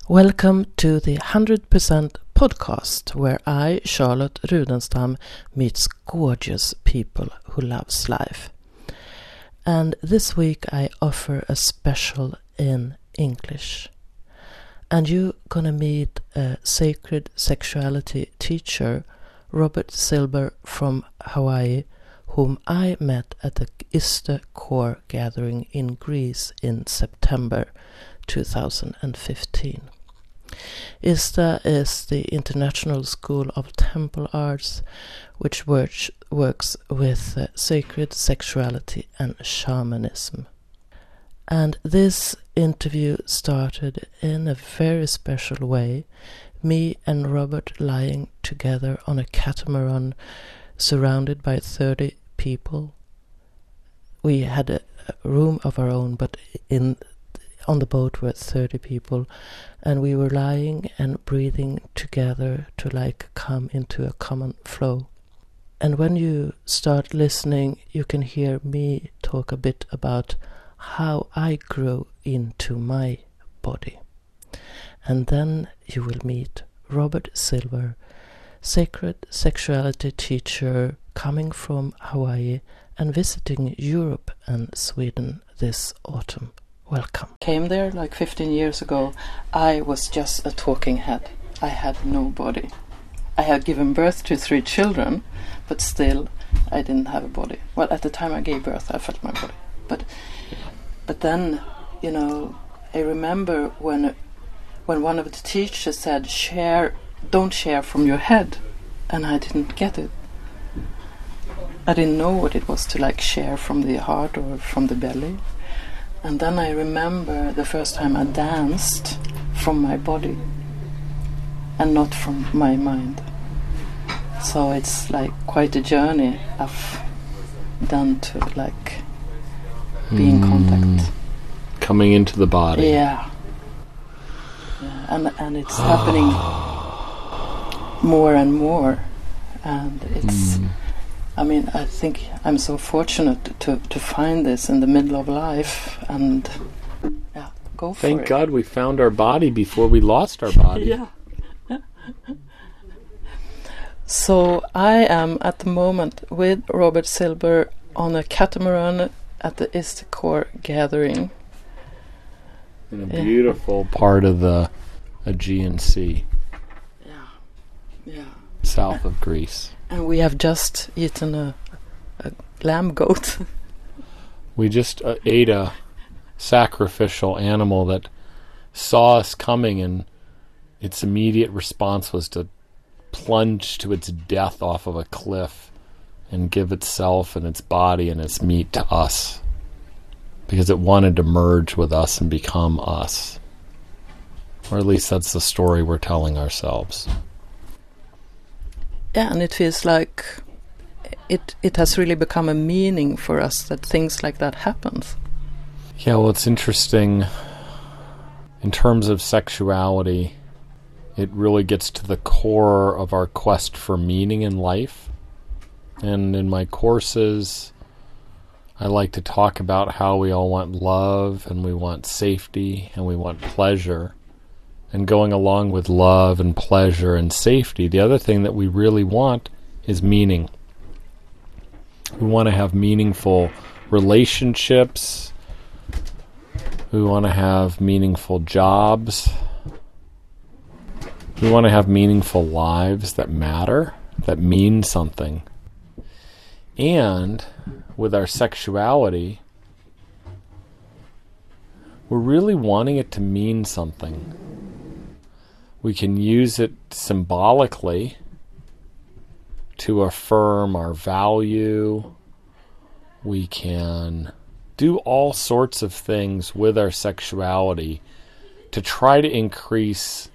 Welcome to the 100% podcast, where I, Charlotte Rudenstam, meets gorgeous people who loves life. And this week I offer a special in English. And you're gonna meet a sacred sexuality teacher, Robert Silber from Hawaii, whom I met at the ISTE Core gathering in Greece in September 2015. ISTA is the International School of Temple Arts, which works with sacred sexuality and shamanism. And this interview started in a very special way, me and Robert lying together on a catamaran surrounded by 30 people. We had a room of our own, but on the boat were 30 people, and we were lying and breathing together to come into a common flow. And when you start listening, you can hear me talk a bit about how I grew into my body. And then you will meet Robert Silber, sacred sexuality teacher coming from Hawaii and visiting Europe and Sweden this autumn. Welcome. Came there 15 years ago. I was just a talking head. I had no body. I had given birth to 3 children, but still I didn't have a body. Well, at the time I gave birth, I felt my body. But then, I remember when one of the teachers said, don't share from your head, and I didn't get it. I didn't know what it was to share from the heart or from the belly. And then I remember the first time I danced from my body and not from my mind. So it's quite a journey I've done to be in contact. Coming into the body. Yeah. And it's happening more and more. And it's... I think I'm so fortunate to find this in the middle of life and go for it. Thank God we found our body before we lost our body. Yeah. So I am at the moment with Robert Silber on a catamaran at the ISTE Core gathering. In a beautiful part of the Aegean Sea. Yeah. South of Greece. And we have just eaten a lamb goat. We just ate a sacrificial animal that saw us coming, and its immediate response was to plunge to its death off of a cliff and give itself and its body and its meat to us, because it wanted to merge with us and become us. Or at least that's the story we're telling ourselves. Yeah, and it feels like it has really become a meaning for us that things like that happens. Yeah, well, it's interesting. In terms of sexuality, it really gets to the core of our quest for meaning in life. And in my courses, I like to talk about how we all want love, and we want safety, and we want pleasure. And going along with love and pleasure and safety, the other thing that we really want is meaning. We want to have meaningful relationships. We want to have meaningful jobs. We want to have meaningful lives that matter, that mean something. And with our sexuality, we're really wanting it to mean something. We can use it symbolically to affirm our value. We can do all sorts of things with our sexuality to try to increase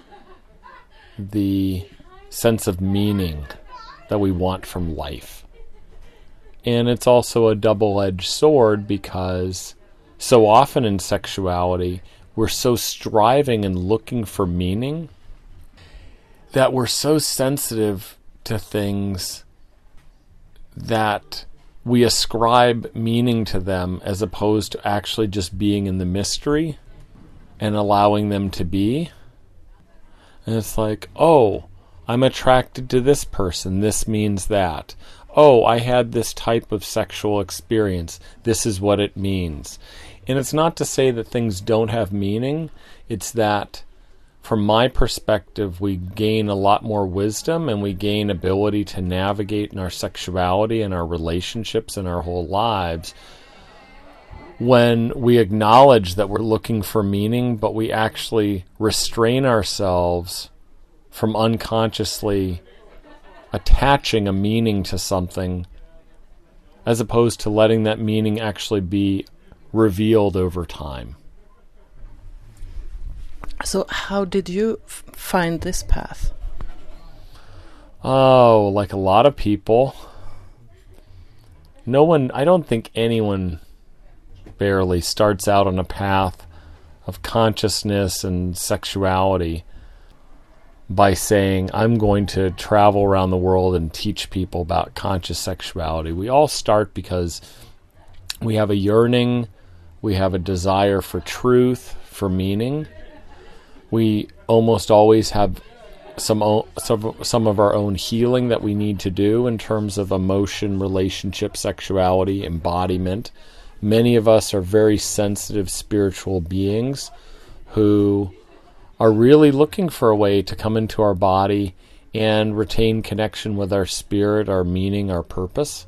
the sense of meaning that we want from life. And it's also a double-edged sword, because so often in sexuality, we're so striving and looking for meaning that we're so sensitive to things that we ascribe meaning to them, as opposed to actually just being in the mystery and allowing them to be. And it's like, oh, I'm attracted to this person. This means that. Oh, I had this type of sexual experience. This is what it means. And it's not to say that things don't have meaning. It's that, from my perspective, we gain a lot more wisdom and we gain ability to navigate in our sexuality and our relationships and our whole lives when we acknowledge that we're looking for meaning, but we actually restrain ourselves from unconsciously attaching a meaning to something, as opposed to letting that meaning actually be revealed over time. So how did you find this path? Oh, like a lot of people. I don't think anyone barely starts out on a path of consciousness and sexuality by saying, I'm going to travel around the world and teach people about conscious sexuality. We all start because we have a yearning, we have a desire for truth, for meaning. We almost always have some of our own healing that we need to do in terms of emotion, relationship, sexuality, embodiment. Many of us are very sensitive spiritual beings who are really looking for a way to come into our body and retain connection with our spirit, our meaning, our purpose.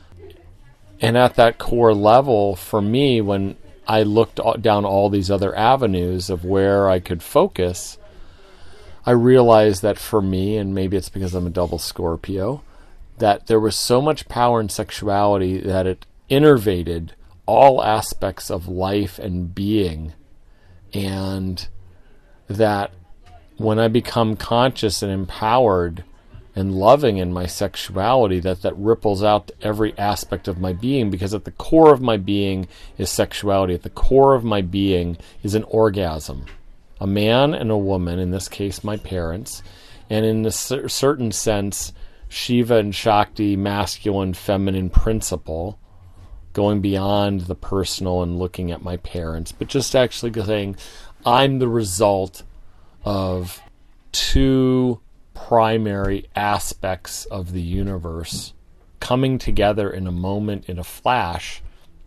And at that core level, for me, when I looked down all these other avenues of where I could focus, I realized that for me, and maybe it's because I'm a double Scorpio, that there was so much power in sexuality that it innervated all aspects of life and being, and that when I become conscious and empowered and loving in my sexuality, that ripples out to every aspect of my being, because at the core of my being is sexuality. At the core of my being is an orgasm. A man and a woman, in this case my parents, and in a certain sense, Shiva and Shakti, masculine, feminine principle, going beyond the personal and looking at my parents, but just actually saying, I'm the result of two primary aspects of the universe coming together in a moment, in a flash,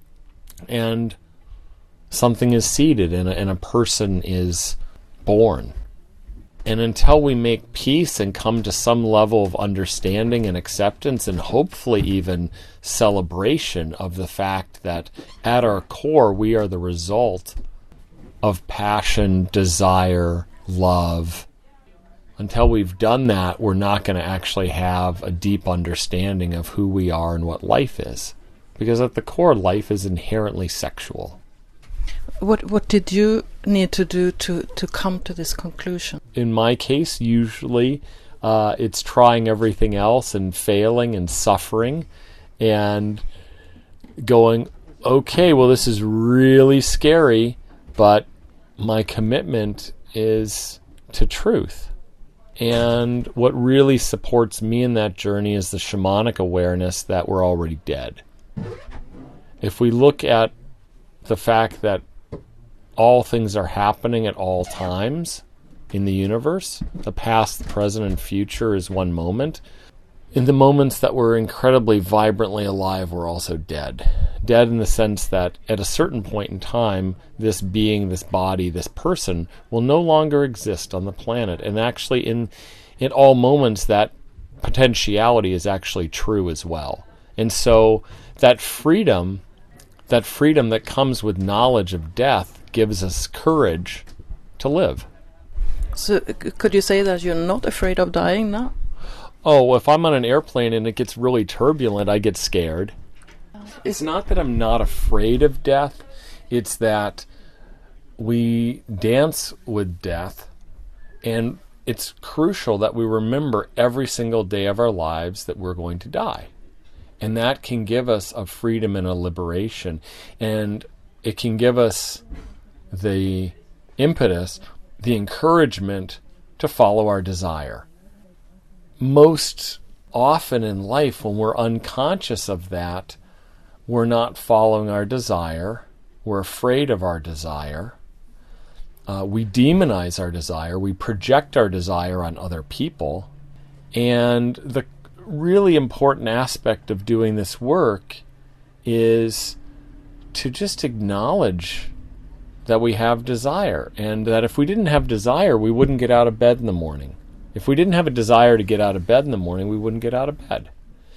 and something is seeded and a person is born. And until we make peace and come to some level of understanding and acceptance, and hopefully even celebration of the fact that at our core we are the result of passion, desire, love, until we've done that, we're not going to actually have a deep understanding of who we are and what life is. Because at the core, life is inherently sexual. What did you need to do to come to this conclusion? In my case, usually it's trying everything else and failing and suffering and going, okay, well, this is really scary, but my commitment is to truth. And what really supports me in that journey is the shamanic awareness that we're already dead. If we look at the fact that all things are happening at all times in the universe, the past, the present, and future is one moment. In the moments that we're incredibly vibrantly alive, we're also dead. Dead in the sense that at a certain point in time, this being, this body, this person will no longer exist on the planet. And actually in all moments, that potentiality is actually true as well. And so that freedom that comes with knowledge of death gives us courage to live. So could you say that you're not afraid of dying now? Oh, if I'm on an airplane and it gets really turbulent, I get scared. It's not that I'm not afraid of death. It's that we dance with death, and it's crucial that we remember every single day of our lives that we're going to die. And that can give us a freedom and a liberation. And it can give us the impetus, the encouragement to follow our desire. Most often in life, when we're unconscious of that, we're not following our desire. We're afraid of our desire. We demonize our desire. We project our desire on other people. And the really important aspect of doing this work is to just acknowledge that we have desire, and that if we didn't have desire, we wouldn't get out of bed in the morning. If we didn't have a desire to get out of bed in the morning, we wouldn't get out of bed.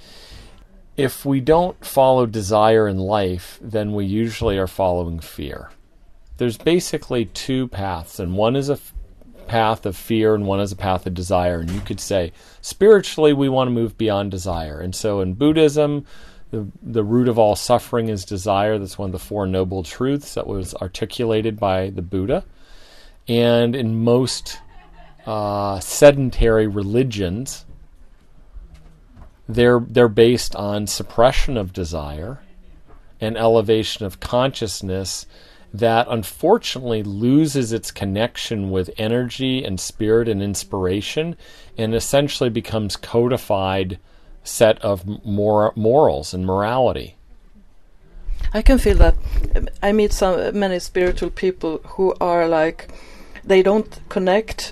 If we don't follow desire in life, then we usually are following fear. There's basically two paths, and one is a path of fear and one is a path of desire. And you could say, spiritually, we want to move beyond desire. And so in Buddhism, the root of all suffering is desire. That's one of the Four Noble Truths that was articulated by the Buddha. And in most sedentary religions, they're based on suppression of desire and elevation of consciousness that unfortunately loses its connection with energy and spirit and inspiration, and essentially becomes codified set of morals and morality. I can feel that. I meet many spiritual people who are like, they don't connect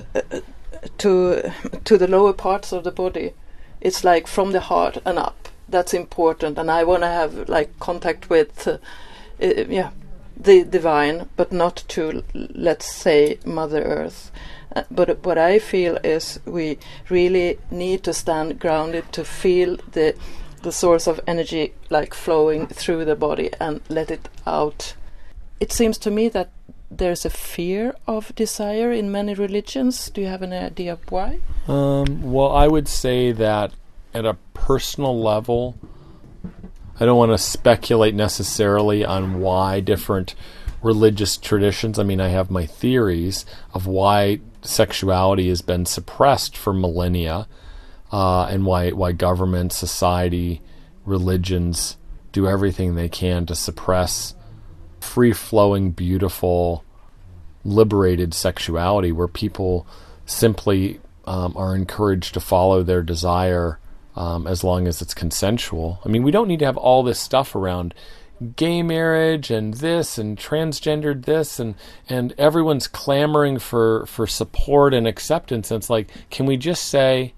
to the lower parts of the body. It's like from the heart and up. That's important, and I want to have like contact with the divine, but not to, let's say, Mother Earth. But what I feel is we really need to stand grounded to feel the source of energy like flowing through the body and let it out. It seems to me that there's a fear of desire in many religions. Do you have an idea of why? Well, I would say that at a personal level, I don't want to speculate necessarily on why different religious traditions, I mean, I have my theories of why sexuality has been suppressed for millennia, and why government, society, religions do everything they can to suppress free-flowing, beautiful, liberated sexuality, where people simply are encouraged to follow their desire as long as it's consensual. I mean, we don't need to have all this stuff around gay marriage and this and transgendered this, and everyone's clamoring for support and acceptance. And it's like, can we just say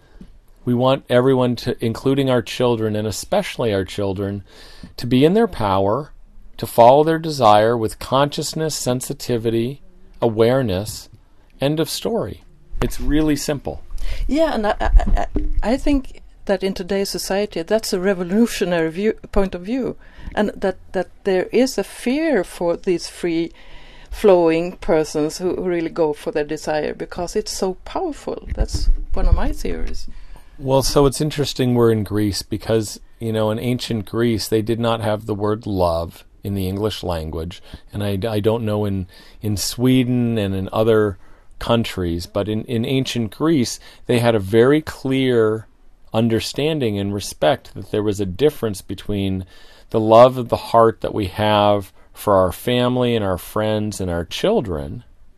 we want everyone to, including our children and especially our children, to be in their power, to follow their desire with consciousness, sensitivity, awareness. End of story. It's really simple. Yeah, and I think that in today's society, that's a revolutionary point of view, and that there is a fear for these free-flowing persons who really go for their desire because it's so powerful. That's one of my theories. Well, so it's interesting we're in Greece because, in ancient Greece, they did not have the word love in the English language, and I don't know in Sweden and in other countries, but in ancient Greece, they had a very clear understanding and respect that there was a difference between the love of the heart that we have for our family and our friends and our children,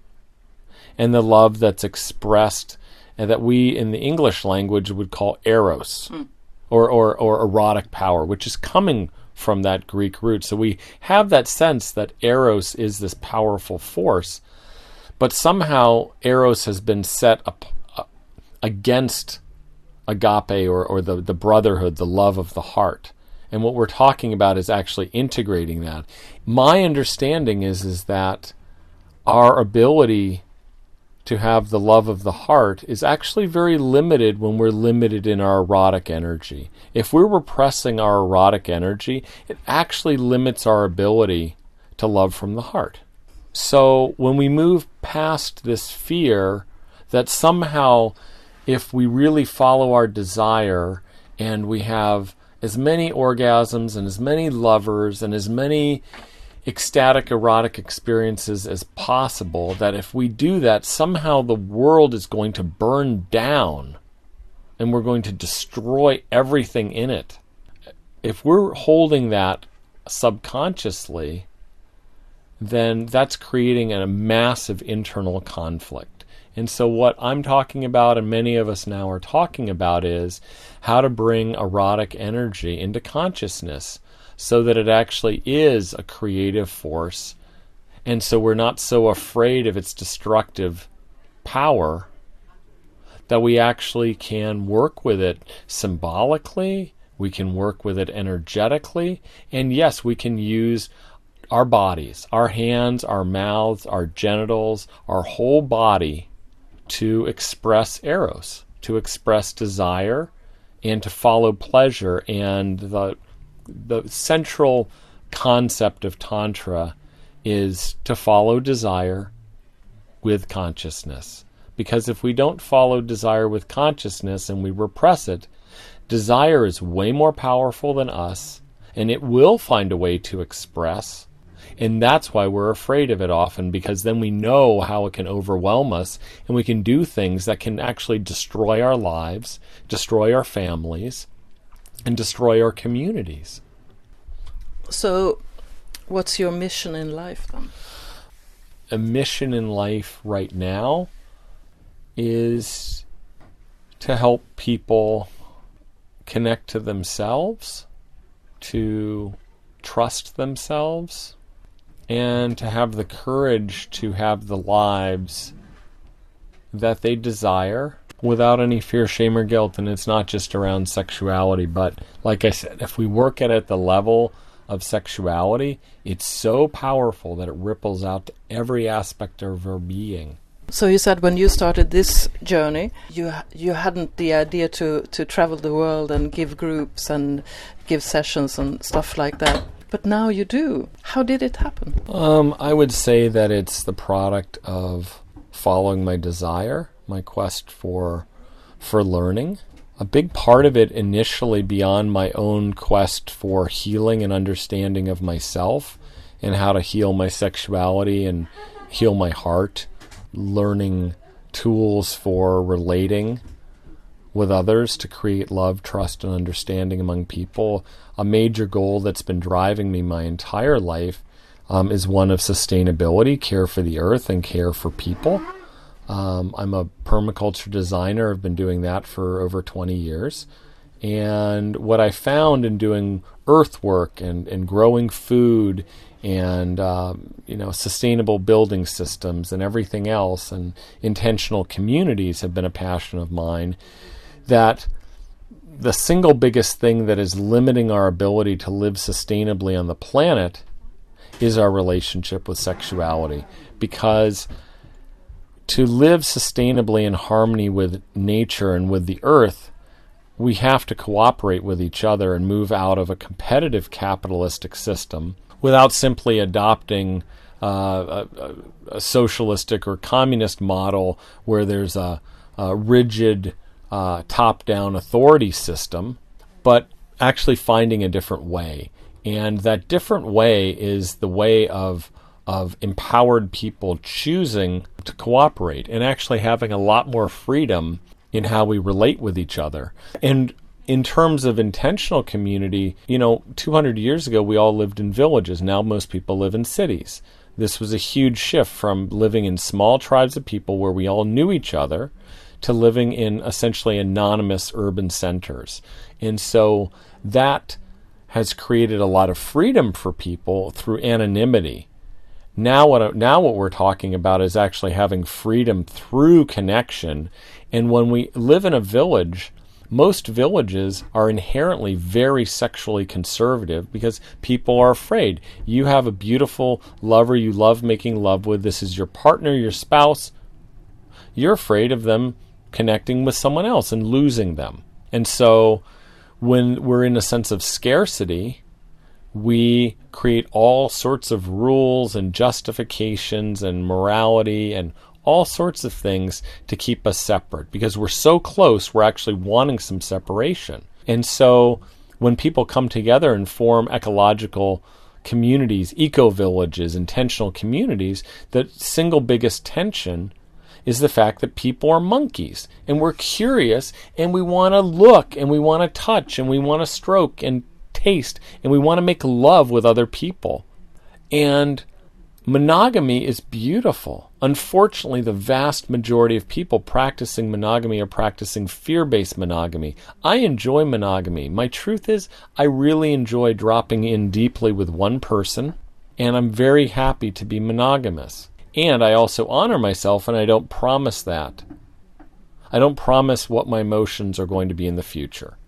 and the love that's expressed and that we in the English language would call eros, or erotic power, which is coming from that Greek root. So we have that sense that eros is this powerful force, but somehow eros has been set up against agape, or the brotherhood, the love of the heart. And what we're talking about is actually integrating that. My understanding is that our ability to have the love of the heart is actually very limited when we're limited in our erotic energy. If we're repressing our erotic energy, it actually limits our ability to love from the heart. So when we move past this fear that somehow, if we really follow our desire and we have as many orgasms and as many lovers and as many ecstatic erotic experiences as possible, that if we do that, somehow the world is going to burn down and we're going to destroy everything in it. If we're holding that subconsciously, then that's creating a massive internal conflict. And so what I'm talking about, and many of us now are talking about, is how to bring erotic energy into consciousness so that it actually is a creative force And so we're not so afraid of its destructive power that we actually can work with it symbolically, we can work with it energetically, and yes, we can use our bodies, our hands, our mouths, our genitals, our whole body to express eros, to express desire, and to follow pleasure. And the central concept of Tantra is to follow desire with consciousness. Because if we don't follow desire with consciousness and we repress it, desire is way more powerful than us, and it will find a way to express. And that's why we're afraid of it often, because then we know how it can overwhelm us, and we can do things that can actually destroy our lives, destroy our families, and destroy our communities. So, what's your mission in life then? A mission in life right now is to help people connect to themselves, to trust themselves, and to have the courage to have the lives that they desire without any fear, shame, or guilt. And it's not just around sexuality, but like I said, if we work at the level of sexuality, it's so powerful that it ripples out to every aspect of our being. So you said when you started this journey, you hadn't the idea to travel the world and give groups and give sessions and stuff like that. But now you do. How did it happen? I would say that it's the product of following my desire, my quest for learning. A big part of it initially, beyond my own quest for healing and understanding of myself and how to heal my sexuality and heal my heart, learning tools for relating with others to create love, trust, and understanding among people. A major goal that's been driving me my entire life is one of sustainability, care for the earth, and care for people. I'm a permaculture designer. I've been doing that for over 20 years. And what I found in doing earthwork and growing food and sustainable building systems and everything else, and intentional communities have been a passion of mine, that the single biggest thing that is limiting our ability to live sustainably on the planet is our relationship with sexuality. Because to live sustainably in harmony with nature and with the earth, we have to cooperate with each other and move out of a competitive capitalistic system without simply adopting a socialistic or communist model where there's a rigid top-down authority system, but actually finding a different way. And that different way is the way of empowered people choosing to cooperate and actually having a lot more freedom in how we relate with each other. And in terms of intentional community, 200 years ago, we all lived in villages. Now most people live in cities. This was a huge shift from living in small tribes of people where we all knew each other to living in essentially anonymous urban centers. And so that has created a lot of freedom for people through anonymity. Now what we're talking about is actually having freedom through connection. And when we live in a village, most villages are inherently very sexually conservative because people are afraid. You have a beautiful lover you love making love with. This is your partner, your spouse. You're afraid of them connecting with someone else and losing them. And so when we're in a sense of scarcity, we create all sorts of rules and justifications and morality and all sorts of things to keep us separate. Because we're so close, we're actually wanting some separation. And so when people come together and form ecological communities, eco-villages, intentional communities, the single biggest tension is the fact that people are monkeys. And we're curious, and we want to look, and we want to touch, and we want to stroke, and taste, and we want to make love with other people. And monogamy is beautiful. Unfortunately, the vast majority of people practicing monogamy are practicing fear-based monogamy. I enjoy monogamy. My truth is, I really enjoy dropping in deeply with one person And I'm very happy to be monogamous. And I also honor myself, and I don't promise that. I don't promise what my emotions are going to be in the future.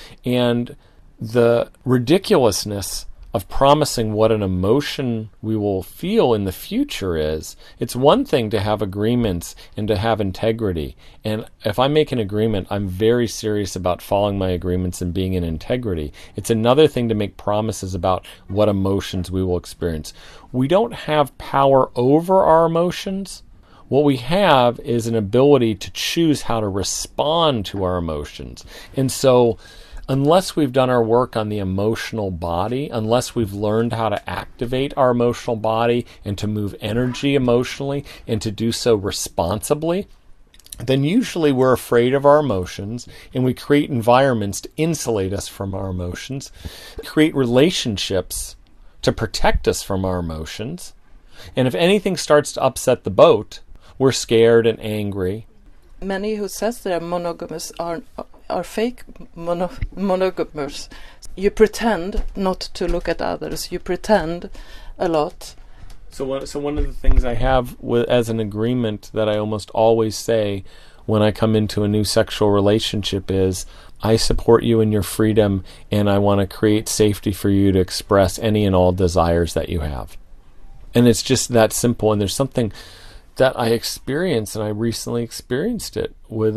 And the ridiculousness of promising what an emotion we will feel in the future is, it's one thing to have agreements and to have integrity. And if I make an agreement, I'm very serious about following my agreements and being in integrity. It's another thing to make promises about what emotions we will experience. We don't have power over our emotions. What we have is an ability to choose how to respond to our emotions. And so unless we've done our work on the emotional body, unless we've learned how to activate our emotional body and to move energy emotionally and to do so responsibly, then usually we're afraid of our emotions and we create environments to insulate us from our emotions, create relationships to protect us from our emotions. And if anything starts to upset the boat, we're scared and angry. Many who says they're monogamous are fake monogamous. You pretend not to look at others. You pretend a lot. So one of the things I have as an agreement that I almost always say when I come into a new sexual relationship is, I support you in your freedom, and I want to create safety for you to express any and all desires that you have. And it's just that simple. And there's something that I experienced, and I recently experienced it with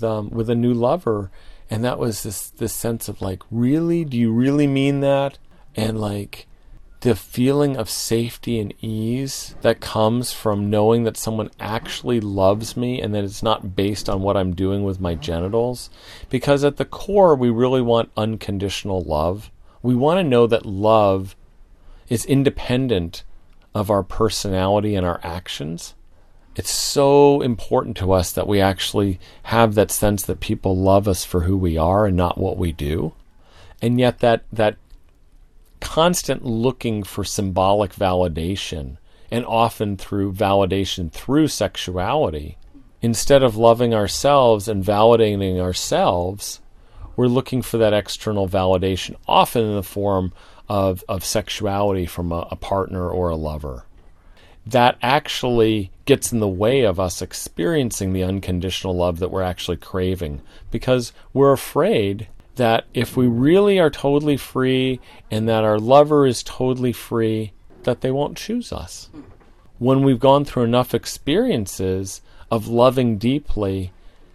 a new lover, and that was this sense of like, really, do you really mean that? And like the feeling of safety and ease that comes from knowing that someone actually loves me and that it's not based on what I'm doing with my genitals. Because at the core, we really want unconditional love. We want to know that love is independent of our personality and our actions. It's so important to us that we actually have that sense that people love us for who we are and not what we do. And yet that constant looking for symbolic validation, and often through validation through sexuality, instead of loving ourselves and validating ourselves, we're looking for that external validation, often in the form of sexuality from a partner or a lover. That actually gets in the way of us experiencing the unconditional love that we're actually craving, because we're afraid that if we really are totally free and that our lover is totally free, that they won't choose us. When we've gone through enough experiences of loving deeply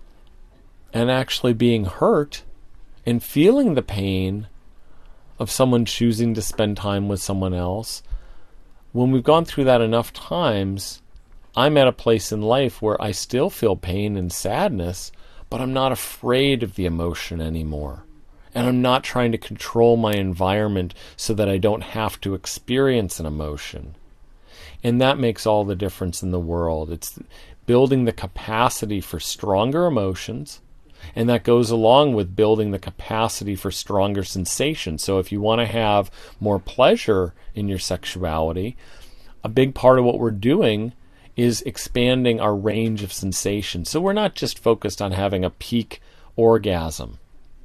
and actually being hurt and feeling the pain of someone choosing to spend time with someone else, when we've gone through that enough times, I'm at a place in life where I still feel pain and sadness, but I'm not afraid of the emotion anymore. And I'm not trying to control my environment so that I don't have to experience an emotion. And that makes all the difference in the world. It's building the capacity for stronger emotions, and that goes along with building the capacity for stronger sensation. So if you want to have more pleasure in your sexuality, a big part of what we're doing is expanding our range of sensation. So we're not just focused on having a peak orgasm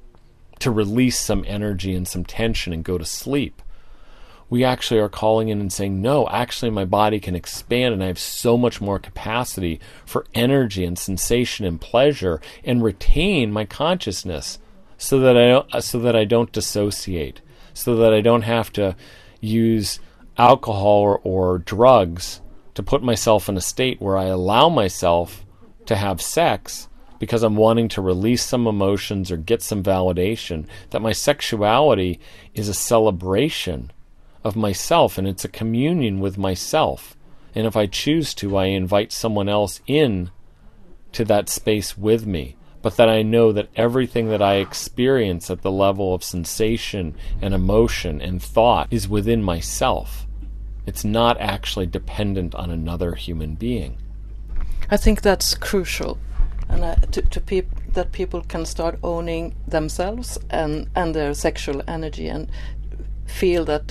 to release some energy and some tension and go to sleep. We actually are calling in and saying, no, actually my body can expand and I have so much more capacity for energy and sensation and pleasure, and retain my consciousness so that I don't dissociate, so that I don't have to use alcohol or drugs to put myself in a state where I allow myself to have sex because I'm wanting to release some emotions or get some validation. That my sexuality is a celebration of myself, and it's a communion with myself. And if I choose to, I invite someone else in to that space with me. But that I know that everything that I experience at the level of sensation and emotion and thought is within myself. It's not actually dependent on another human being. I think that's crucial, and that people can start owning themselves and their sexual energy, and feel that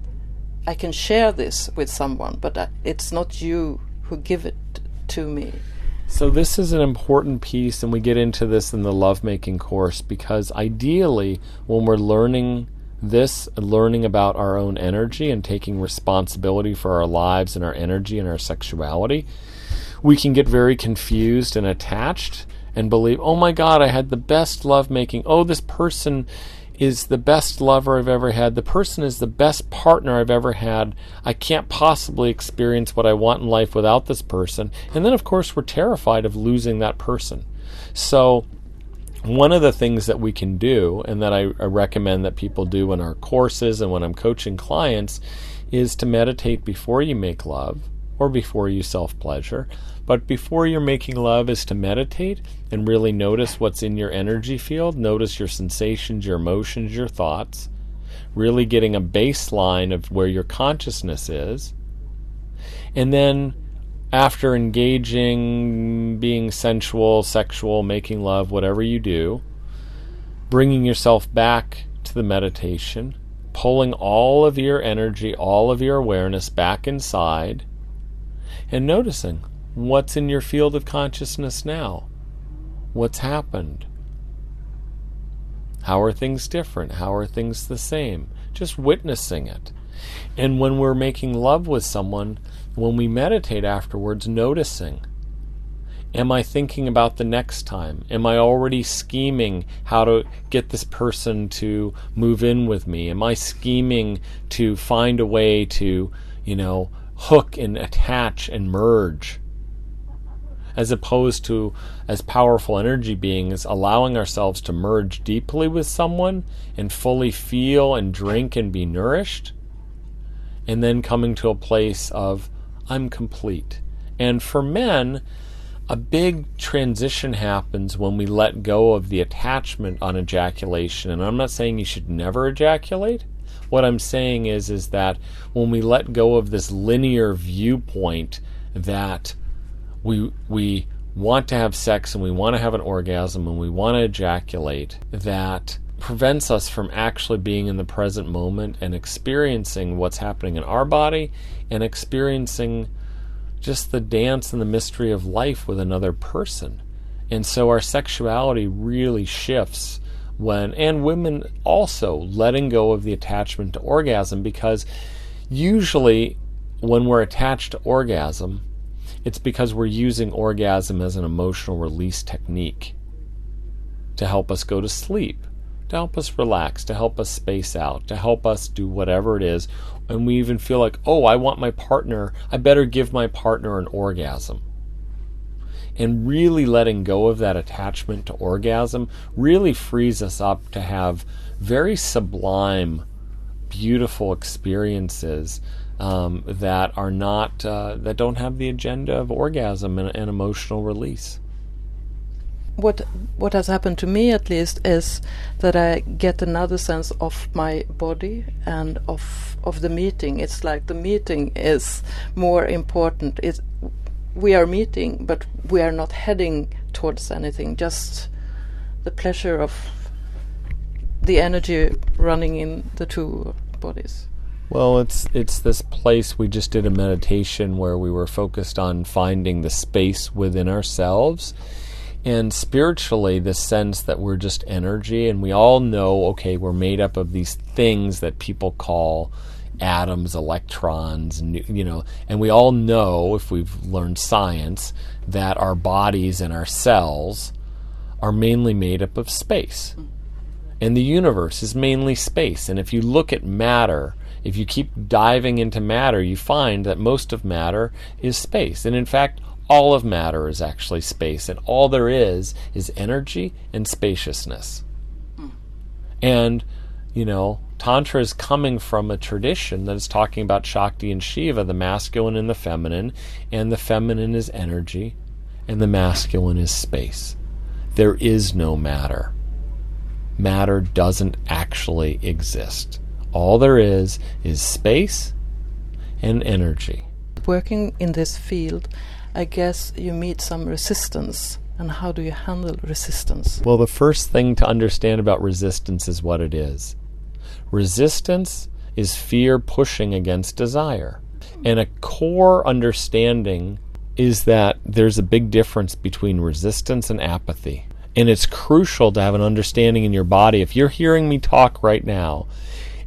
I can share this with someone, but it's not you who give it to me. So this is an important piece, and we get into this in the lovemaking course, because ideally when we're learning this learning about our own energy and taking responsibility for our lives and our energy and our sexuality, we can get very confused and attached and believe, oh my God, I had the best lovemaking. Oh, this person is the best lover I've ever had. The person is the best partner I've ever had. I can't possibly experience what I want in life without this person. And then, of course, we're terrified of losing that person. So one of the things that we can do, and that I recommend that people do in our courses and when I'm coaching clients, is to meditate before you make love or before you self-pleasure. But before you're making love is to meditate and really notice what's in your energy field. Notice your sensations, your emotions, your thoughts. Really getting a baseline of where your consciousness is. And then after engaging, being sensual, sexual, making love, whatever you do, bringing yourself back to the meditation, pulling all of your energy, all of your awareness back inside, and noticing what's in your field of consciousness now. What's happened? How are things different? How are things the same? Just witnessing it. And when we're making love with someone, when we meditate afterwards, noticing, am I thinking about the next time? Am I already scheming how to get this person to move in with me? Am I scheming to find a way to, hook and attach and merge? As opposed to, as powerful energy beings, allowing ourselves to merge deeply with someone and fully feel and drink and be nourished, and then coming to a place of, I'm complete. And for men, a big transition happens when we let go of the attachment on ejaculation. And I'm not saying you should never ejaculate. What I'm saying is that when we let go of this linear viewpoint that we want to have sex and we want to have an orgasm and we want to ejaculate, that prevents us from actually being in the present moment and experiencing what's happening in our body and experiencing just the dance and the mystery of life with another person. And so our sexuality really shifts when, and women also, letting go of the attachment to orgasm, because usually when we're attached to orgasm, it's because we're using orgasm as an emotional release technique to help us go to sleep, to help us relax, to help us space out, to help us do whatever it is. And we even feel like, oh, I want my partner, I better give my partner an orgasm. And really letting go of that attachment to orgasm really frees us up to have very sublime, beautiful experiences that are not, that don't have the agenda of orgasm and emotional release. What has happened to me, at least, is that I get another sense of my body and of the meeting. It's like the meeting is more important. We are meeting, but we are not heading towards anything. Just the pleasure of the energy running in the two bodies. Well, it's this place. We just did a meditation where we were focused on finding the space within ourselves. And spiritually, this sense that we're just energy, and we all know, okay, we're made up of these things that people call atoms, electrons, and we all know, if we've learned science, that our bodies and our cells are mainly made up of space. And the universe is mainly space. And if you look at matter, if you keep diving into matter, you find that most of matter is space. And in fact, all of matter is actually space, and all there is energy and spaciousness. And, Tantra is coming from a tradition that is talking about Shakti and Shiva, the masculine and the feminine is energy, and the masculine is space. There is no matter. Matter doesn't actually exist. All there is space and energy. Working in this field, I guess you meet some resistance. And how do you handle resistance? Well, the first thing to understand about resistance is what it is. Resistance is fear pushing against desire. And a core understanding is that there's a big difference between resistance and apathy. And it's crucial to have an understanding in your body. If you're hearing me talk right now,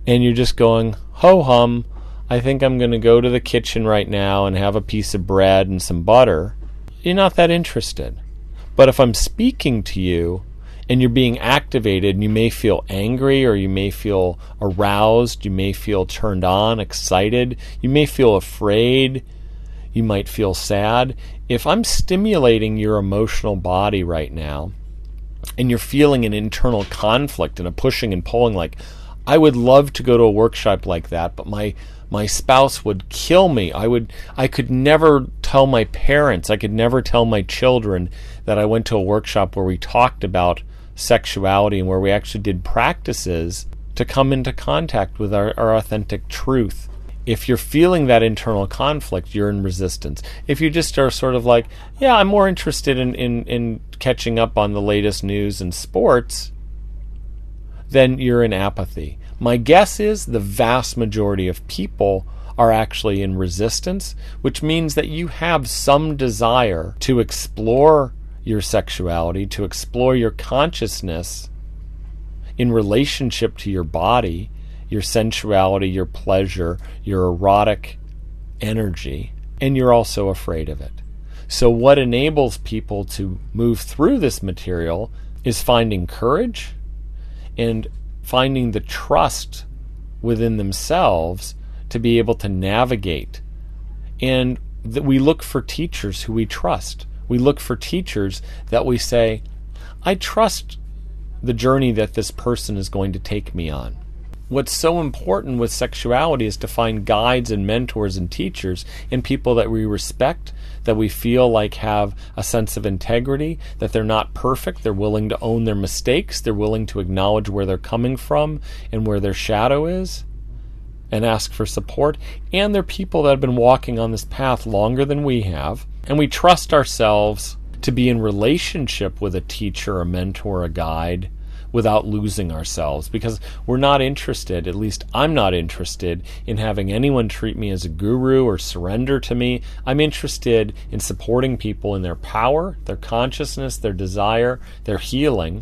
and you're just going, ho-hum, I think I'm going to go to the kitchen right now and have a piece of bread and some butter, you're not that interested. But if I'm speaking to you and you're being activated, and you may feel angry, or you may feel aroused, you may feel turned on, excited, you may feel afraid, you might feel sad. If I'm stimulating your emotional body right now, and you're feeling an internal conflict and a pushing and pulling, like, I would love to go to a workshop like that, but my spouse would kill me. I could never tell my parents, I could never tell my children that I went to a workshop where we talked about sexuality and where we actually did practices to come into contact with our authentic truth. If you're feeling that internal conflict, you're in resistance. If you just are sort of like, yeah, I'm more interested in catching up on the latest news and sports, then you're in apathy. My guess is the vast majority of people are actually in resistance, which means that you have some desire to explore your sexuality, to explore your consciousness in relationship to your body, your sensuality, your pleasure, your erotic energy, and you're also afraid of it. So what enables people to move through this material is finding courage and finding the trust within themselves to be able to navigate. And that we look for teachers who we trust. We look for teachers that we say, I trust the journey that this person is going to take me on. What's so important with sexuality is to find guides and mentors and teachers and people that we respect, that we feel like have a sense of integrity, that they're not perfect, they're willing to own their mistakes, they're willing to acknowledge where they're coming from and where their shadow is and ask for support. And they're people that have been walking on this path longer than we have, and we trust ourselves to be in relationship with a teacher, a mentor, a guide, without losing ourselves, because we're not interested, at least I'm not interested, in having anyone treat me as a guru or surrender to me. I'm interested in supporting people in their power, their consciousness, their desire, their healing.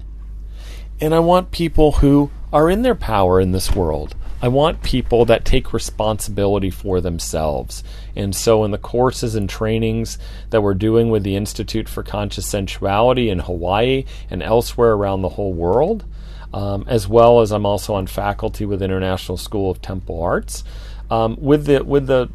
And I want people who are in their power in this world. I want people that take responsibility for themselves. And so in the courses and trainings that we're doing with the Institute for Conscious Sensuality in Hawaii and elsewhere around the whole world, as well as I'm also on faculty with International School of Temple Arts, with the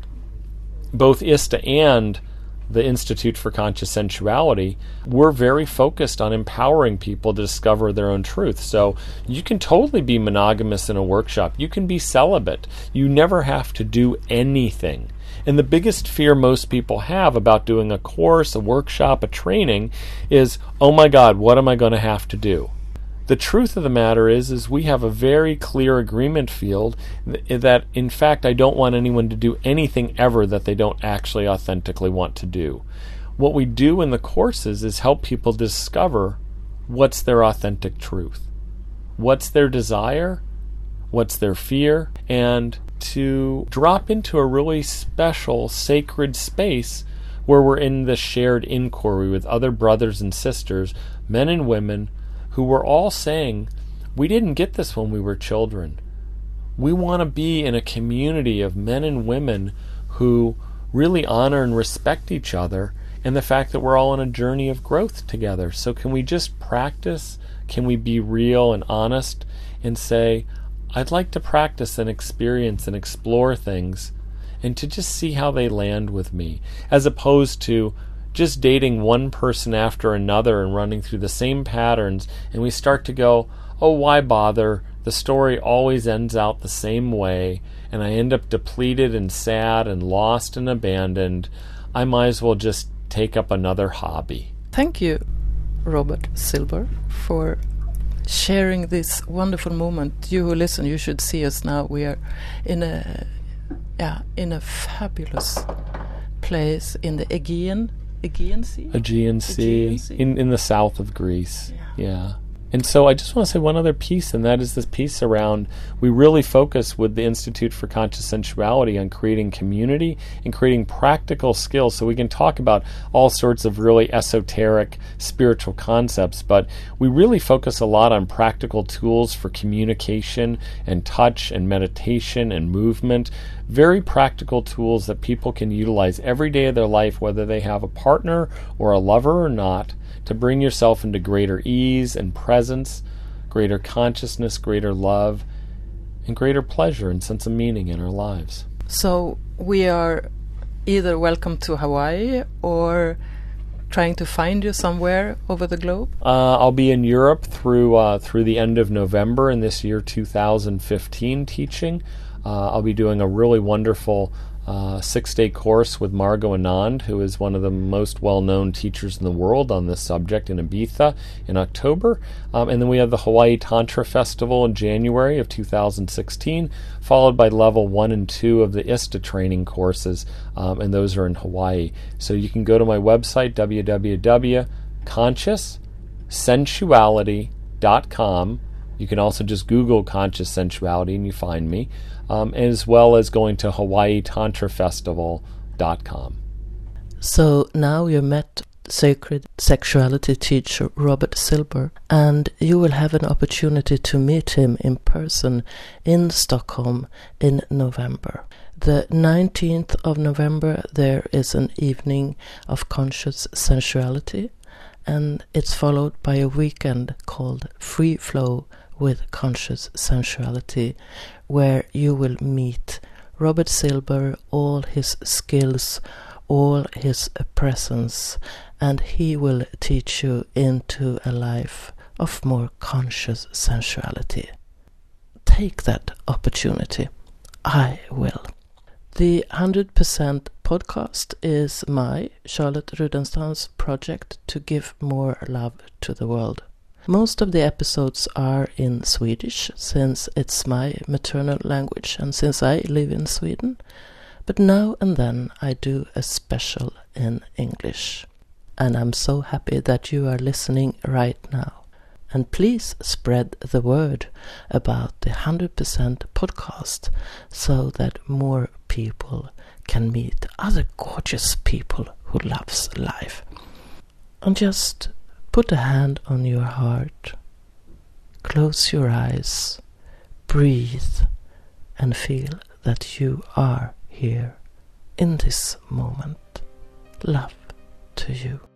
both ISTA and the Institute for Conscious Sensuality, we're very focused on empowering people to discover their own truth. So you can totally be monogamous in a workshop. You can be celibate. You never have to do anything. And the biggest fear most people have about doing a course, a workshop, a training is, oh my God, what am I going to have to do? The truth of the matter is we have a very clear agreement field that, in fact, I don't want anyone to do anything ever that they don't actually authentically want to do. What we do in the courses is help people discover what's their authentic truth, what's their desire, what's their fear, and to drop into a really special, sacred space where we're in the shared inquiry with other brothers and sisters, men and women, who were all saying, we didn't get this when we were children. We want to be in a community of men and women who really honor and respect each other, and the fact that we're all on a journey of growth together. So can we just practice? Can we be real and honest and say, I'd like to practice and experience and explore things and to just see how they land with me, as opposed to just dating one person after another and running through the same patterns, and we start to go, oh, why bother? The story always ends out the same way, and I end up depleted and sad and lost and abandoned. I might as well just take up another hobby. Thank you, Robert Silber, for sharing this wonderful moment. You who listen, you should see us now. We are in a fabulous place in the Aegean Sea? In the south of Greece. Yeah. And so I just want to say one other piece, and that is this piece around, we really focus with the Institute for Conscious Sensuality on creating community and creating practical skills, so we can talk about all sorts of really esoteric spiritual concepts, but we really focus a lot on practical tools for communication and touch and meditation and movement, very practical tools that people can utilize every day of their life, whether they have a partner or a lover or not, to bring yourself into greater ease and presence, greater consciousness, greater love, and greater pleasure and sense of meaning in our lives. So we are either welcome to Hawaii or trying to find you somewhere over the globe? I'll be in Europe through the end of November in this year 2015 teaching. I'll be doing a really wonderful 6-day course with Margot Anand, who is one of the most well-known teachers in the world on this subject, in Ibiza in October. And then we have the Hawaii Tantra Festival in January of 2016, followed by level 1 and 2 of the ISTA training courses, and those are in Hawaii. So you can go to my website, www.conscioussensuality.com. You can also just Google Conscious Sensuality and you find me, as well as going to HawaiiTantraFestival.com. So now you met sacred sexuality teacher Robert Silber, and you will have an opportunity to meet him in person in Stockholm in November. The 19th of November there is an evening of conscious sensuality, and it's followed by a weekend called Free Flow with Conscious Sensuality, where you will meet Robert Silber, all his skills, all his presence, and he will teach you into a life of more conscious sensuality. Take that opportunity. I will. The 100% podcast is my, Charlotte Rudenstam's, project to give more love to the world. Most of the episodes are in Swedish, since it's my maternal language and since I live in Sweden. But now and then I do a special in English. And I'm so happy that you are listening right now. And please spread the word about the 100% podcast so that more people can meet other gorgeous people who loves life. And just put a hand on your heart, close your eyes, breathe, and feel that you are here in this moment. Love to you.